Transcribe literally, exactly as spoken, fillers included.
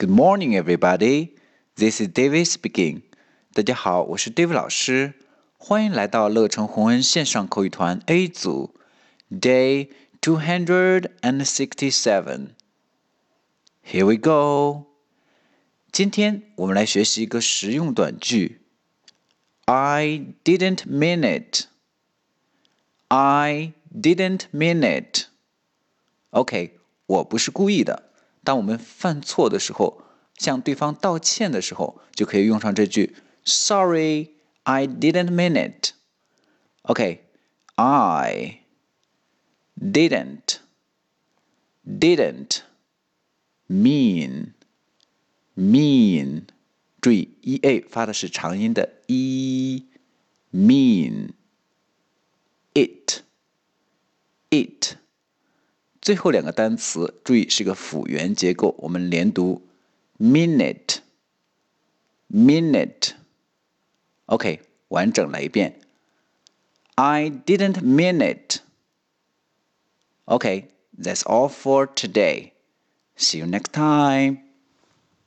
Good morning, everybody. This is David speaking. 大家好，我是 David 老师，欢迎来到乐成宏恩线上口语团 A 组 Day two hundred sixty-seven. Here we go. 今天我们来学习一个实用短句。I didn't mean it. I didn't mean it. OK, 我不是故意的。当我们犯错的时候，向对方道歉的时候，就可以用上这句 Sorry, I didn't mean it. OK, I didn't didn't mean mean 注意 ea 发的是长音的 e mean it it 最后两个单词注意是个辅元结构，我们连读 minute minute OK 完整来一遍 I didn't mean it. Okay, that's all for today. See you next time.